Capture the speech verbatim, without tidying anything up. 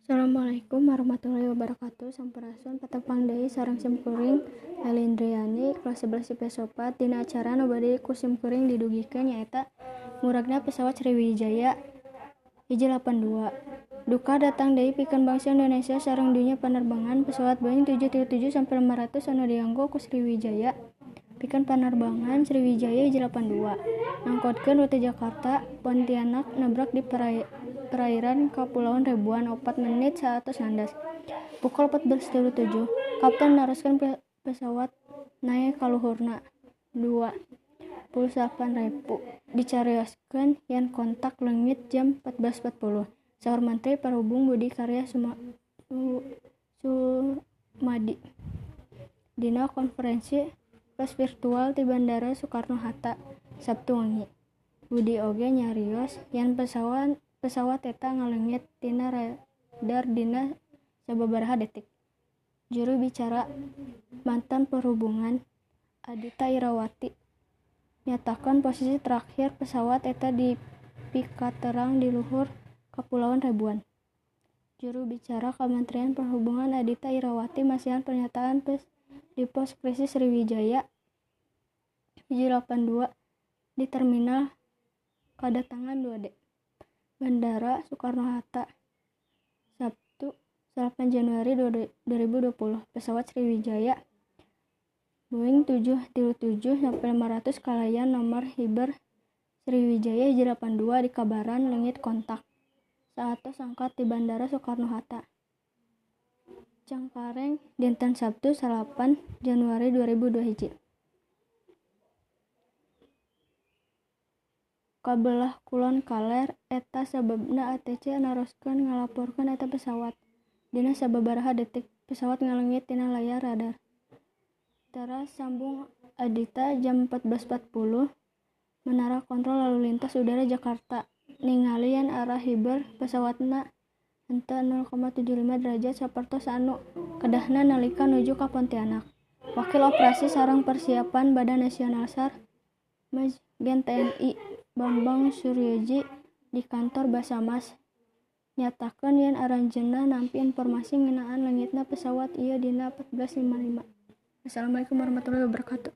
Assalamualaikum warahmatullahi wabarakatuh. Sampurasun patepang deui sareng simkuring Elindriani kelas sebelas I P S opat dina acara nu bade ku simkuring didugikeun nyaeta muragna pesawat Sriwijaya hiji lapan dua. Duka datang deui pikeun bangsa Indonesia sareng dunya panerbangan pesawat Boeing tujuh tilu tujuh sampe lima ratus anu dianggo ku Sriwijaya pikeun panerbangan Sriwijaya hiji lapan dua ngangkotkeun rute Jakarta Pontianak nabrak di perai, perairan Kapulauan Ribuan opat menit saeus ngandas. Pukul empat belas tilu tujuh kapten naroskeun pe- pesawat naek ka luhurna dua puluh salapan ribu dicarioskeun yen kontak leungit jam empat belas empat puluh. Saur Menteri Perhubung Budi Karya Suma, Sumadi dina konferensi pers virtual di Bandara Soekarno-Hatta Sabtu wengi. Budi oge nyarios yen pesawat pesawat eta ngaleungit tina radar dina sababaraha detik. Juru bicara mantan Perhubungan Adita Irawati nyatakan posisi terakhir pesawat eta di pikaterang di luhur Kapulauan Ribuan. Juru bicara Kementerian Perhubungan Adita Irawati masihan pernyataan pers di pos krisis Sriwijaya hiji lapan dua di terminal kedatangan dua D Bandara Soekarno-Hatta Sabtu delapan Januari dua ribu dua puluh. Pesawat Sriwijaya Boeing tujuh tilu tujuh sampe lima ratus kalayan nomor hiber Sriwijaya hiji lapan dua dikabaran leungit kontak saetos angkat di Bandara Soekarno-Hatta Cengkareng dinten Sabtu salapan Januari dua ribu dua puluh hiji. Kabelah kulon Kaler eta sababna A T C naroskeun ngalaporkeun eta pesawat. Dina sababaraha detik pesawat ngaleungit tina layar radar. Teras sambung Adita jam empat belas empat puluh Menara Kontrol Lalu Lintas Udara Jakarta ningali yen arah hiber pesawatna henteu nol koma tujuh lima derajat sapertos anu kedahna nalika nuju ka Pontianak. Wakil Operasi sareng Persiapan Badan Nasional S A R Majen T N I Bambang Suryoji di kantor Basarnas nyatakeun yen aranjeunna nampi informasi ngeunaan leungitna pesawat ieu dina empat belas lima puluh lima. Assalamualaikum warahmatullahi wabarakatuh.